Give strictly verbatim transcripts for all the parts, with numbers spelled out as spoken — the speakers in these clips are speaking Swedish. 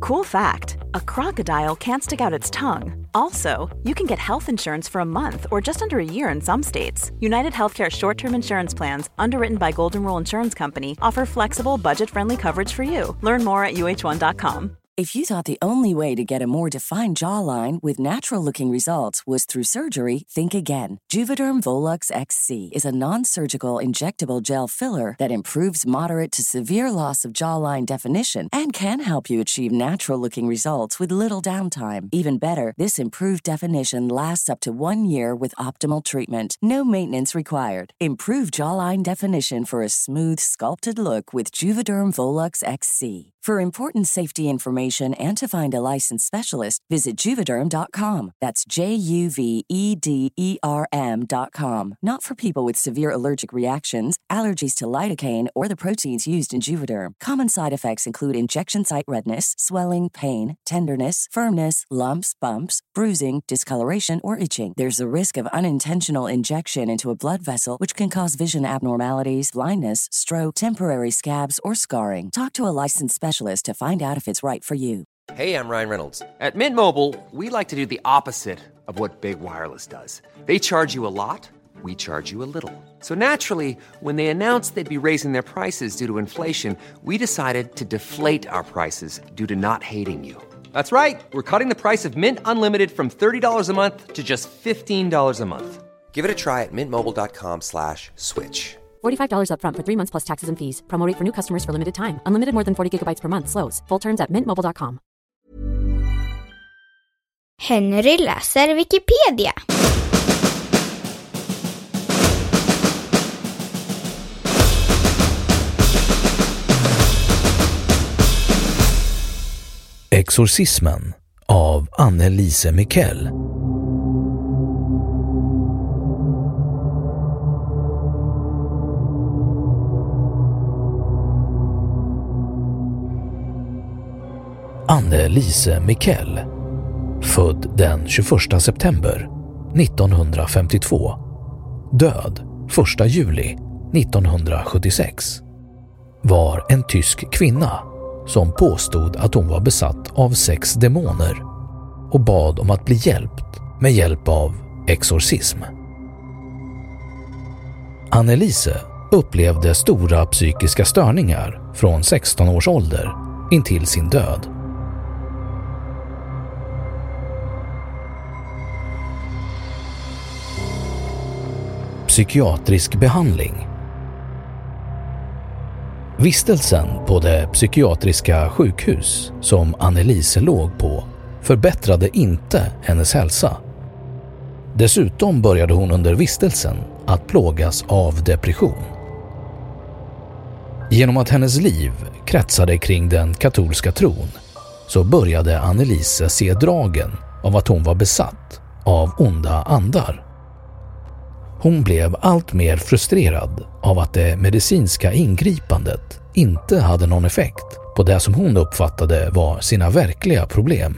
Cool fact, a crocodile can't stick out its tongue. Also, you can get health insurance for a month or just under a year in some states. United Healthcare short-term insurance plans, underwritten by Golden Rule Insurance Company, offer flexible, budget-friendly coverage for you. Learn more at U H one dot com. If you thought the only way to get a more defined jawline with natural-looking results was through surgery, think again. Juvederm Volux X C is a non-surgical injectable gel filler that improves moderate to severe loss of jawline definition and can help you achieve natural-looking results with little downtime. Even better, this improved definition lasts up to one year with optimal treatment. No maintenance required. Improve jawline definition for a smooth, sculpted look with Juvederm Volux X C. For important safety information and to find a licensed specialist, visit Juvederm dot com. That's J U V E D E R M dot com. Not for people with severe allergic reactions, allergies to lidocaine, or the proteins used in Juvederm. Common side effects include injection site redness, swelling, pain, tenderness, firmness, lumps, bumps, bruising, discoloration, or itching. There's a risk of unintentional injection into a blood vessel, which can cause vision abnormalities, blindness, stroke, temporary scabs, or scarring. Talk to a licensed specialist to find out if it's right for you. Hey, I'm Ryan Reynolds. At Mint Mobile, we like to do the opposite of what Big Wireless does. They charge you a lot, we charge you a little. So naturally, when they announced they'd be raising their prices due to inflation, we decided to deflate our prices due to not hating you. That's right. We're cutting the price of Mint Unlimited from thirty dollars a month to just fifteen dollars a month. Give it a try at mintmobile.com slash switch. forty-five dollars up front for three months plus taxes and fees. Promo rate for new customers for limited time. Unlimited more than forty gigabytes per month. Slows full terms at mint mobile dot com. Henry läser Wikipedia. Exorcismen av Annelise Miquel. Annelise Miquel, född den tjugoförsta september nittonhundrafemtiotvå, död första juli nittonhundrasjuttiosex, var en tysk kvinna som påstod att hon var besatt av sex demoner och bad om att bli hjälpt med hjälp av exorcism. Annelise upplevde stora psykiska störningar från sexton års ålder intill sin död. Psykiatrisk behandling. Vistelsen på det psykiatriska sjukhus som Annelise låg på förbättrade inte hennes hälsa. Dessutom började hon under vistelsen att plågas av depression. Genom att hennes liv kretsade kring den katolska tron så började Annelise se dragen av att hon var besatt av onda andar. Hon blev allt mer frustrerad av att det medicinska ingripandet inte hade någon effekt på det som hon uppfattade var sina verkliga problem.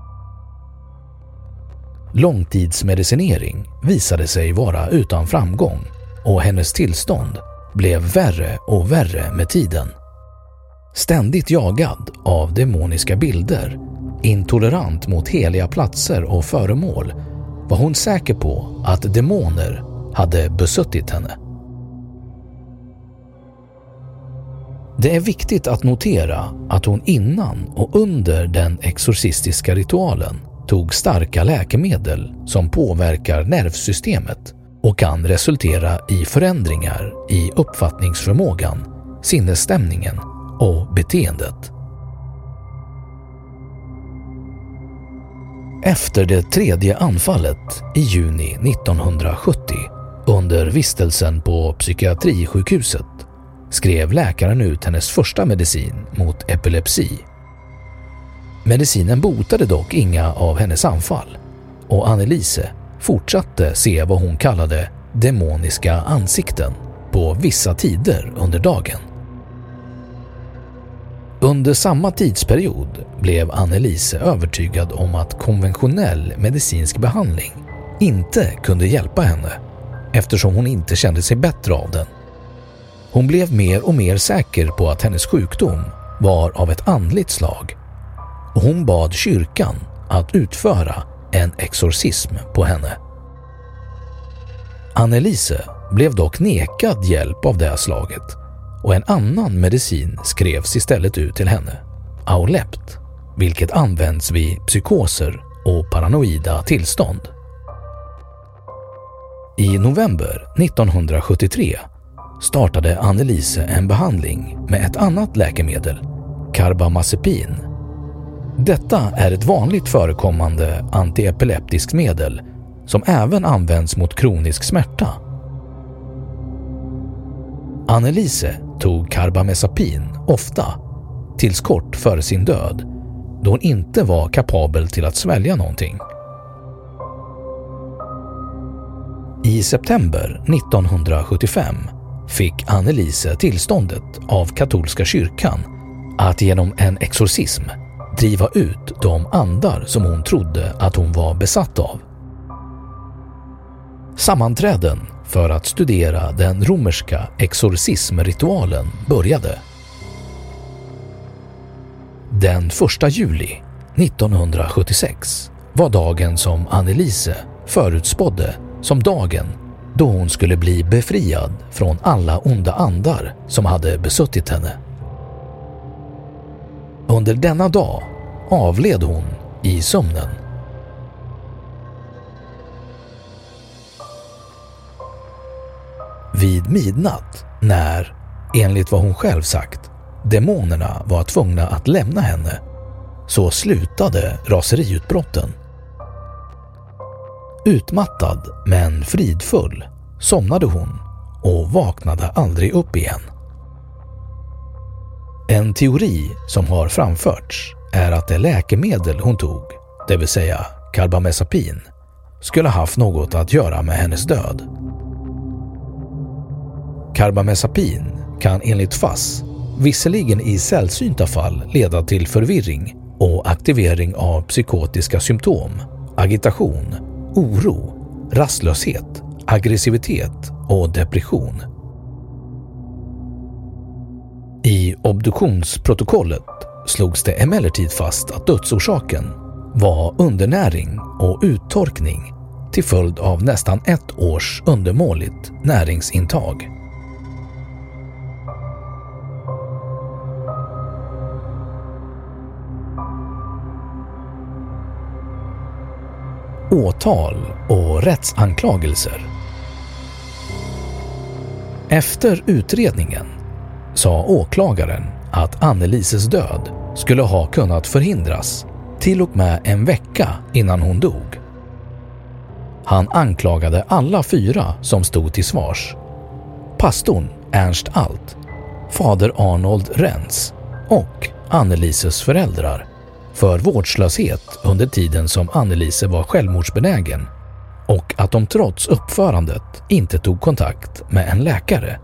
Långtidsmedicinering visade sig vara utan framgång och hennes tillstånd blev värre och värre med tiden. Ständigt jagad av demoniska bilder, intolerant mot heliga platser och föremål, var hon säker på att demoner hade besuttit henne. Det är viktigt att notera att hon innan och under den exorcistiska ritualen tog starka läkemedel som påverkar nervsystemet och kan resultera i förändringar i uppfattningsförmågan, sinnesstämningen och beteendet. Efter det tredje anfallet i juni nittonhundrasjuttio under vistelsen på psykiatrisjukhuset skrev läkaren ut hennes första medicin mot epilepsi. Medicinen botade dock inga av hennes anfall och Annelise fortsatte se vad hon kallade demoniska ansikten på vissa tider under dagen. Under samma tidsperiod blev Annelise övertygad om att konventionell medicinsk behandling inte kunde hjälpa henne eftersom hon inte kände sig bättre av den. Hon blev mer och mer säker på att hennes sjukdom var av ett andligt slag och hon bad kyrkan att utföra en exorcism på henne. Anneliese blev dock nekad hjälp av det slaget och en annan medicin skrevs istället ut till henne, Aulept, vilket används vid psykoser och paranoida tillstånd. I november nittonhundrasjuttiotre startade Anneliese en behandling med ett annat läkemedel, carbamazepin. Detta är ett vanligt förekommande antiepileptiskt medel som även används mot kronisk smärta. Anneliese tog carbamazepin ofta, tills kort före sin död, då hon inte var kapabel till att svälja någonting. I september nittonhundrasjuttiofem fick Anneliese tillståndet av katolska kyrkan att genom en exorcism driva ut de andar som hon trodde att hon var besatt av. Sammanträden för att studera den romerska exorcismritualen började. Den första juli nittonhundrasjuttiosex var dagen som Anneliese förutspådde som dagen då hon skulle bli befriad från alla onda andar som hade besuttit henne. Under denna dag avled hon i sömnen. Vid midnatt, när, enligt vad hon själv sagt, demonerna var tvungna att lämna henne, så slutade raseriutbrotten. Utmattad men fridfull somnade hon och vaknade aldrig upp igen. En teori som har framförts är att det läkemedel hon tog, det vill säga carbamazepin, skulle haft något att göra med hennes död. Carbamazepin kan enligt F A S visserligen i sällsynta fall leda till förvirring och aktivering av psykotiska symptom, agitation, oro, rastlöshet, aggressivitet och depression. I obduktionsprotokollet slogs det emellertid fast att dödsorsaken var undernäring och uttorkning till följd av nästan ett års undermåligt näringsintag. Åtal och rättsanklagelser. Efter utredningen sa åklagaren att Annelieses död skulle ha kunnat förhindras till och med en vecka innan hon dog. Han anklagade alla fyra som stod till svars: pastorn Ernst Alt, fader Arnold Renz och Annelieses föräldrar för vårdslöshet under tiden som Anneliese var självmordsbenägen och att de trots uppförandet inte tog kontakt med en läkare.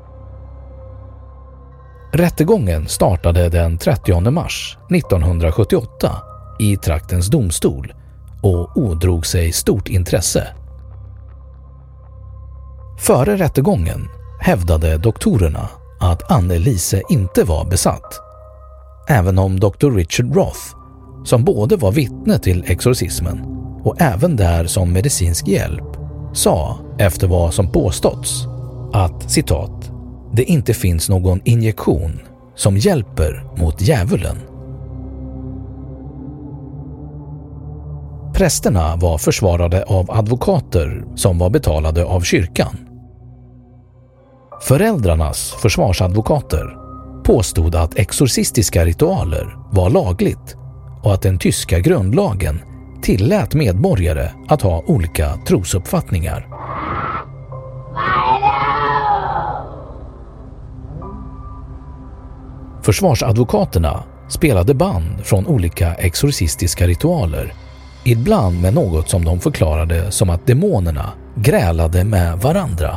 Rättegången startade den trettionde mars nittonhundrasjuttioåtta i traktens domstol och ådrog sig stort intresse. Före rättegången hävdade doktorerna att Anneliese inte var besatt, även om doktor Richard Roth, som både var vittne till exorcismen och även där som medicinsk hjälp, sa efter vad som påståtts att, citat, det inte finns någon injektion som hjälper mot djävulen. Prästerna var försvarade av advokater som var betalade av kyrkan. Föräldrarnas försvarsadvokater påstod att exorcistiska ritualer var lagligt och att den tyska grundlagen tillät medborgare att ha olika trosuppfattningar. Försvarsadvokaterna spelade band från olika exorcistiska ritualer, ibland med något som de förklarade som att demonerna grälade med varandra.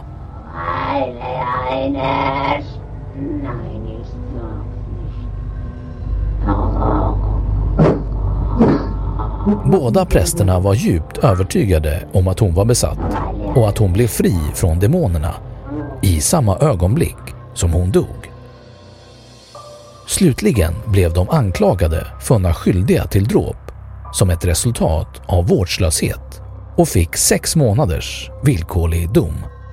Båda prästerna var djupt övertygade om att hon var besatt och att hon blev fri från demonerna i samma ögonblick som hon dog. Slutligen blev de anklagade funna skyldiga till dråp som ett resultat av vårdslöshet och fick sex månaders villkorlig dom.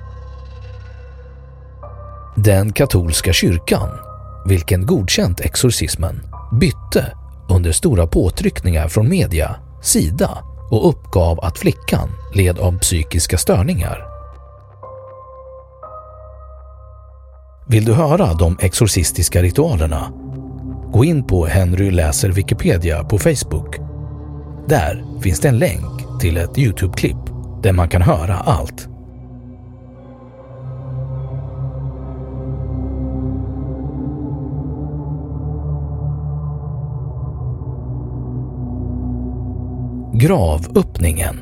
Den katolska kyrkan, vilken godkänt exorcismen, bytte under stora påtryckningar från media sida och uppgav att flickan led av psykiska störningar. Vill du höra de exorcistiska ritualerna? Gå in på Henry läser Wikipedia på Facebook. Där finns det en länk till ett YouTube-klipp där man kan höra allt. Gravöppningen.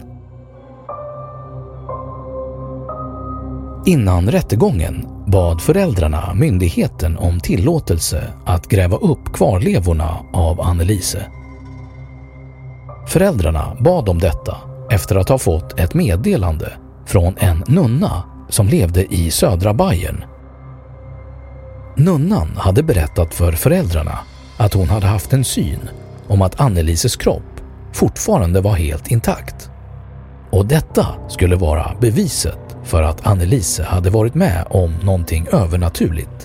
Innan rättegången bad föräldrarna myndigheten om tillåtelse att gräva upp kvarlevorna av Anneliese. Föräldrarna bad om detta efter att ha fått ett meddelande från en nunna som levde i södra Bayern. Nunnan hade berättat för föräldrarna att hon hade haft en syn om att Annelieses kropp fortfarande var helt intakt. Och detta skulle vara beviset för att Anneliese hade varit med om någonting övernaturligt.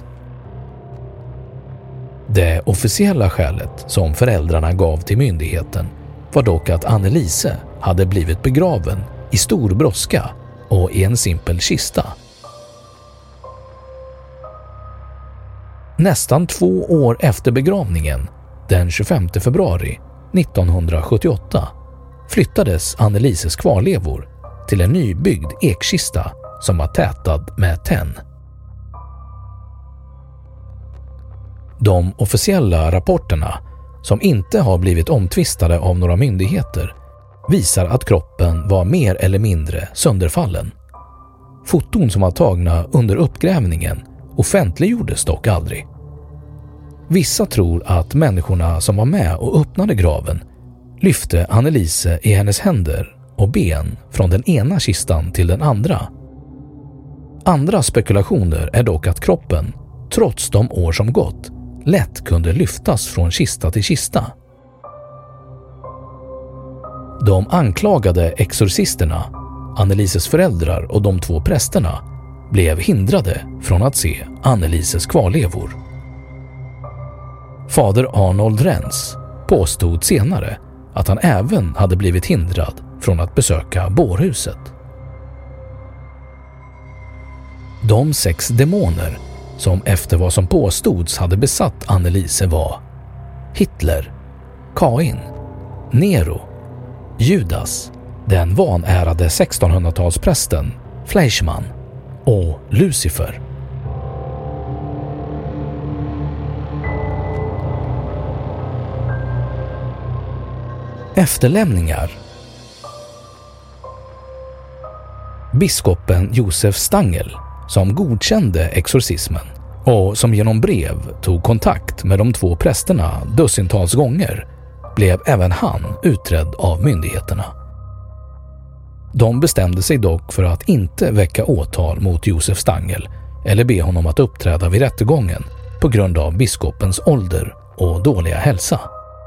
Det officiella skälet som föräldrarna gav till myndigheten var dock att Anneliese hade blivit begraven i stor brådska och i en simpel kista. Nästan två år efter begravningen, den tjugofemte februari nittonhundrasjuttioåtta, flyttades Annelieses kvarlevor till en nybyggd ekkista som var tätad med tenn. De officiella rapporterna, som inte har blivit omtvistade av några myndigheter, visar att kroppen var mer eller mindre sönderfallen. Foton som var tagna under uppgrävningen offentliggjordes dock aldrig. Vissa tror att människorna som var med och öppnade graven lyfte Anneliese i hennes händer och ben från den ena kistan till den andra. Andra spekulationer är dock att kroppen, trots de år som gått, lätt kunde lyftas från kista till kista. De anklagade exorcisterna, Annelieses föräldrar och de två prästerna, blev hindrade från att se Annelieses kvarlevor. Fader Arnold Renz påstod senare att han även hade blivit hindrad från att besöka bårhuset. De sex demoner som efter vad som påstods hade besatt Anneliese var Hitler, Kain, Nero, Judas, den vanärade sextonhundratalsprästen Fleischmann och Lucifer. Efterlämningar. Biskopen Josef Stangl, som godkände exorcismen och som genom brev tog kontakt med de två prästerna dussintals gånger, blev även han utredd av myndigheterna. De bestämde sig dock för att inte väcka åtal mot Josef Stangl eller be honom att uppträda vid rättegången på grund av biskopens ålder och dåliga hälsa.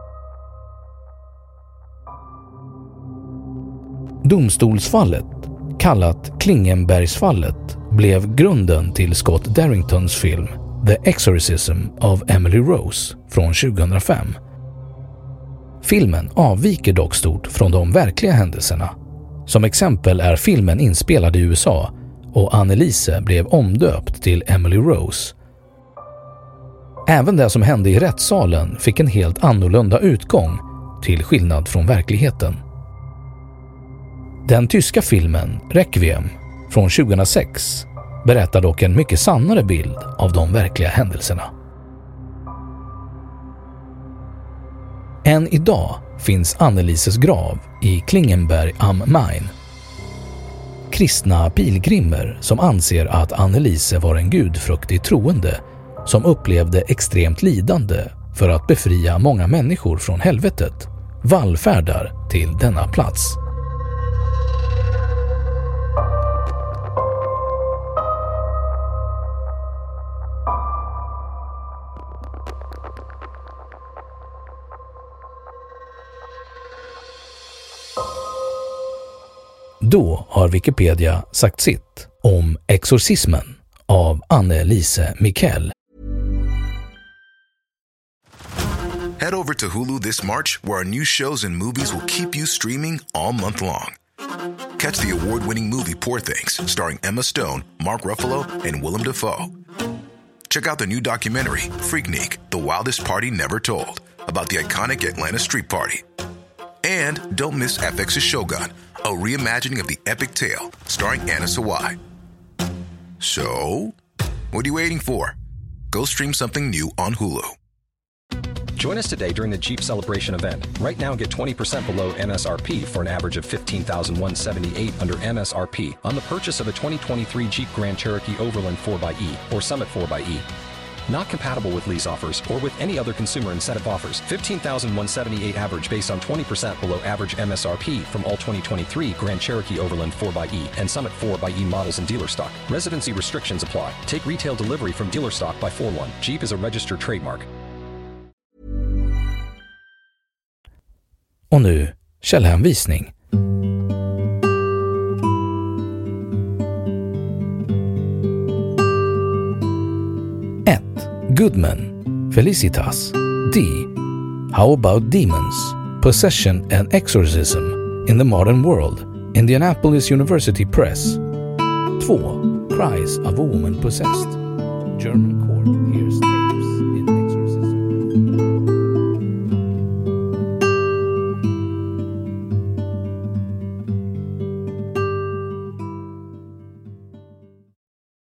Domstolsfallet, kallat Klingenbergsfallet, blev grunden till Scott Darringtons film The Exorcism of Emily Rose från tjugohundrafem. Filmen avviker dock stort från de verkliga händelserna. Som exempel är filmen inspelad i U S A och Anneliese blev omdöpt till Emily Rose. Även det som hände i rättssalen fick en helt annorlunda utgång till skillnad från verkligheten. Den tyska filmen Requiem från tjugohundrasex berättar dock en mycket sannare bild av de verkliga händelserna. Än idag finns Annelieses grav i Klingenberg am Main. Kristna pilgrimer som anser att Anneliese var en gudfruktig troende som upplevde extremt lidande för att befria många människor från helvetet vallfärdar till denna plats. Då har Wikipedia sagt sitt om Exorcismen av Anne-Lise Mikkel. Head over to Hulu this March, where our new shows and movies will keep you streaming all month long. Catch the award-winning movie Poor Things, starring Emma Stone, Mark Ruffalo, and Willem Dafoe. Check out the new documentary, Freaknik, The Wildest Party Never Told, about the iconic Atlanta Street Party. And don't miss F X's Shogun, a reimagining of the epic tale, starring Anna Sawai. So, what are you waiting for? Go stream something new on Hulu. Join us today during the Jeep Celebration event. Right now, get twenty percent below M S R P for an average of fifteen thousand one hundred seventy-eight dollars under M S R P on the purchase of a twenty twenty-three Jeep Grand Cherokee Overland four by E or Summit four by E. Not compatible with lease offers or with any other consumer incentive offers. fifteen thousand one hundred seventy-eight dollars average based on twenty percent below average M S R P from all twenty twenty-three Grand Cherokee Overland four by E and Summit four by E models in dealer stock. Residency restrictions apply. Take retail delivery from dealer stock by four one. Jeep is a registered trademark. Och nu källhänvisning. ett. Goodman, Felicitas. D. How about demons, possession and exorcism in the modern world, Indianapolis University Press. två. Cries of a woman possessed, German court here.